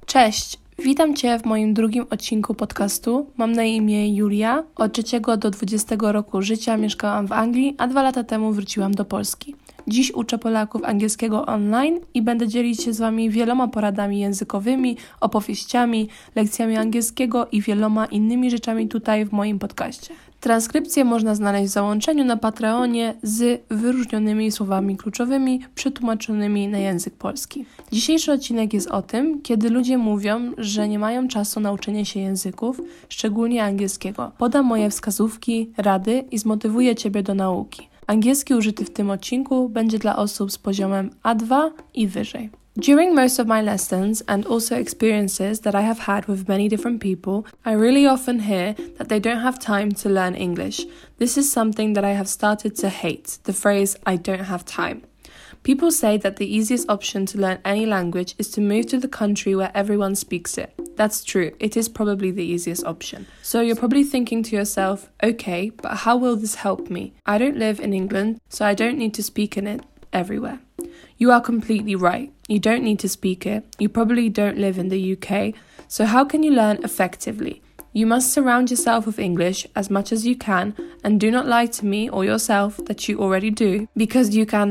Cześć! Witam Cię w moim drugim odcinku podcastu. Mam na imię Julia. Od 3 do 20 roku życia mieszkałam w Anglii, a 2 lata temu wróciłam do Polski. Dziś uczę Polaków angielskiego online i będę dzielić się z Wami wieloma poradami językowymi, opowieściami, lekcjami angielskiego i wieloma innymi rzeczami tutaj w moim podcaście. Transkrypcję można znaleźć w załączeniu na Patreonie z wyróżnionymi słowami kluczowymi przetłumaczonymi na język polski. Dzisiejszy odcinek jest o tym, kiedy ludzie mówią, że nie mają czasu na uczenie się języków, szczególnie angielskiego. Podam moje wskazówki, rady i zmotywuję Ciebie do nauki. Angielski użyty w tym odcinku będzie dla osób z poziomem A2 i wyżej. During most of my lessons and also experiences that I have had with many different people, I really often hear that they don't have time to learn English. This is something that I have started to hate, the phrase I don't have time. People say that the easiest option to learn any language is to move to the country where everyone speaks it. That's true, it is probably the easiest option. So you're probably thinking to yourself, okay, but how will this help me? I don't live in England, so I don't need to speak in it everywhere. You are completely right. You don't need to speak it. You probably don't live in the UK. So how can you learn effectively? You must surround yourself with English as much as you can, and do not lie to me or yourself that you already do, because you can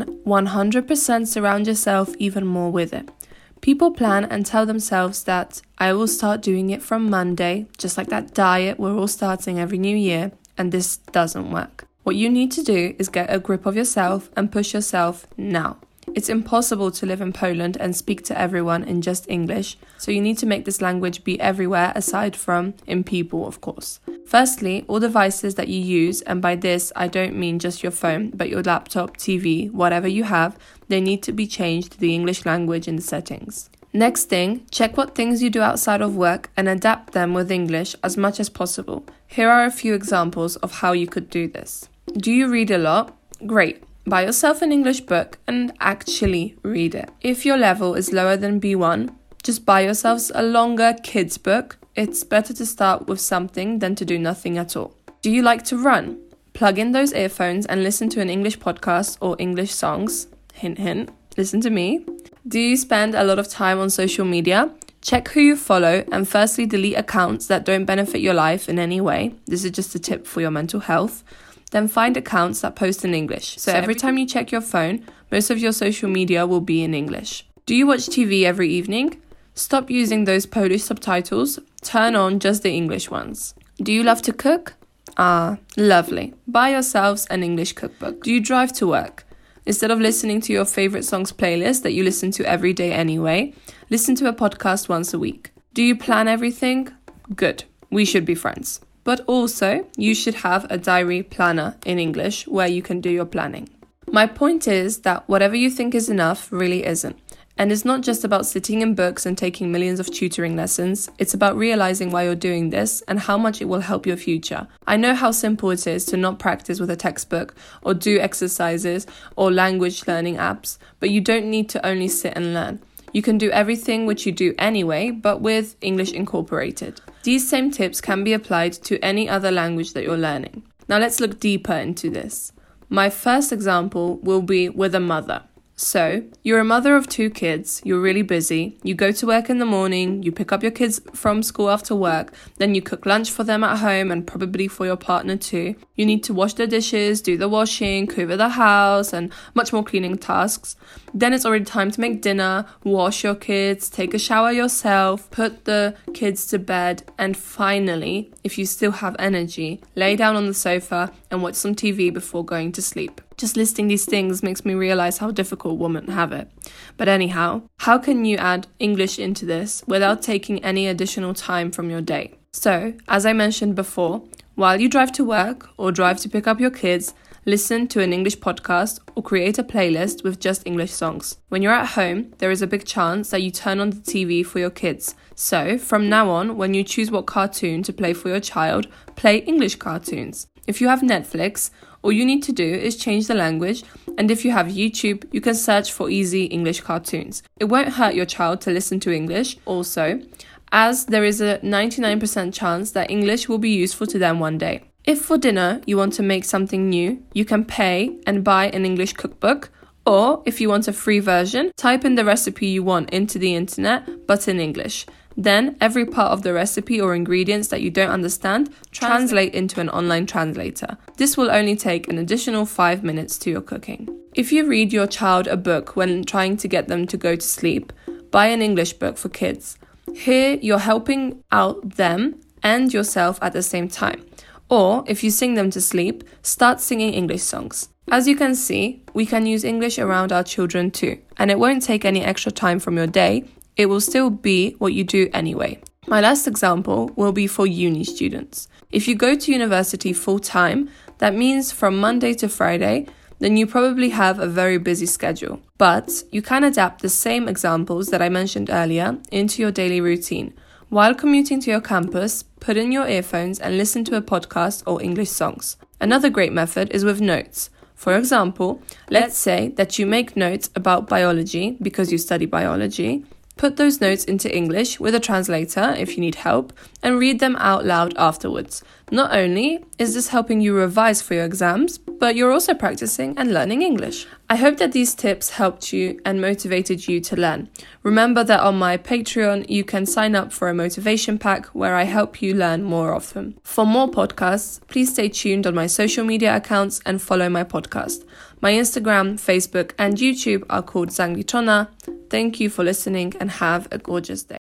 100% surround yourself even more with it. People plan and tell themselves that I will start doing it from Monday, just like that diet we're all starting every new year, and this doesn't work. What you need to do is get a grip of yourself and push yourself now. It's impossible to live in Poland and speak to everyone in just English, so you need to make this language be everywhere aside from in people, of course. Firstly, all devices that you use, and by this I don't mean just your phone, but your laptop, TV, whatever you have, they need to be changed to the English language in the settings. Next thing, check what things you do outside of work and adapt them with English as much as possible. Here are a few examples of how you could do this. Do you read a lot? Great. Buy yourself an English book and actually read it. If your level is lower than B1, just buy yourselves a longer kids book. It's better to start with something than to do nothing at all. Do you like to run? Plug in those earphones and listen to an English podcast or English songs. Hint, hint. Listen to me. Do you spend a lot of time on social media? Check who you follow and firstly delete accounts that don't benefit your life in any way. This is just a tip for your mental health. Then find accounts that post in English. So every time you check your phone, most of your social media will be in English. Do you watch TV every evening? Stop using those Polish subtitles. Turn on just the English ones. Do you love to cook? Ah, lovely. Buy yourselves an English cookbook. Do you drive to work? Instead of listening to your favorite songs playlist that you listen to every day anyway, listen to a podcast once a week. Do you plan everything? Good. We should be friends. But also, you should have a diary planner in English where you can do your planning. My point is that whatever you think is enough really isn't. And it's not just about sitting in books and taking millions of tutoring lessons. It's about realizing why you're doing this and how much it will help your future. I know how simple it is to not practice with a textbook or do exercises or language learning apps, but you don't need to only sit and learn. You can do everything which you do anyway, but with English incorporated. These same tips can be applied to any other language that you're learning. Now let's look deeper into this. My first example will be with a mother. So, you're a mother of 2 kids, you're really busy, you go to work in the morning, you pick up your kids from school after work, then you cook lunch for them at home and probably for your partner too. You need to wash the dishes, do the washing, cover the house and much more cleaning tasks. Then it's already time to make dinner, wash your kids, take a shower yourself, put the kids to bed, and finally, if you still have energy, lay down on the sofa and watch some TV before going to sleep. Just listing these things makes me realize how difficult women have it. But anyhow, how can you add English into this without taking any additional time from your day? So, as I mentioned before, while you drive to work or drive to pick up your kids, listen to an English podcast or create a playlist with just English songs. When you're at home, there is a big chance that you turn on the TV for your kids. So, from now on, when you choose what cartoon to play for your child, play English cartoons. If you have Netflix, all you need to do is change the language, and if you have YouTube, you can search for easy English cartoons. It won't hurt your child to listen to English also, as there is a 99% chance that English will be useful to them one day. If for dinner you want to make something new, you can pay and buy an English cookbook, or if you want a free version, type in the recipe you want into the internet, but in English. Then, every part of the recipe or ingredients that you don't understand, translate into an online translator. This will only take an additional 5 minutes to your cooking. If you read your child a book when trying to get them to go to sleep, buy an English book for kids. Here, you're helping out them and yourself at the same time. Or, if you sing them to sleep, start singing English songs. As you can see, we can use English around our children too, and it won't take any extra time from your day. It will still be what you do anyway. My last example will be for uni students. If you go to university full-time, that means from Monday to Friday, then you probably have a very busy schedule. But you can adapt the same examples that I mentioned earlier into your daily routine. While commuting to your campus, put in your earphones and listen to a podcast or English songs. Another great method is with notes. For example, let's say that you make notes about biology because you study biology. Put those notes into English with a translator if you need help and read them out loud afterwards. Not only is this helping you revise for your exams, but you're also practicing and learning English. I hope that these tips helped you and motivated you to learn. Remember that on my Patreon, you can sign up for a motivation pack where I help you learn more often. For more podcasts, please stay tuned on my social media accounts and follow my podcast. My Instagram, Facebook, and YouTube are called Zangliczona. Thank you for listening and have a gorgeous day.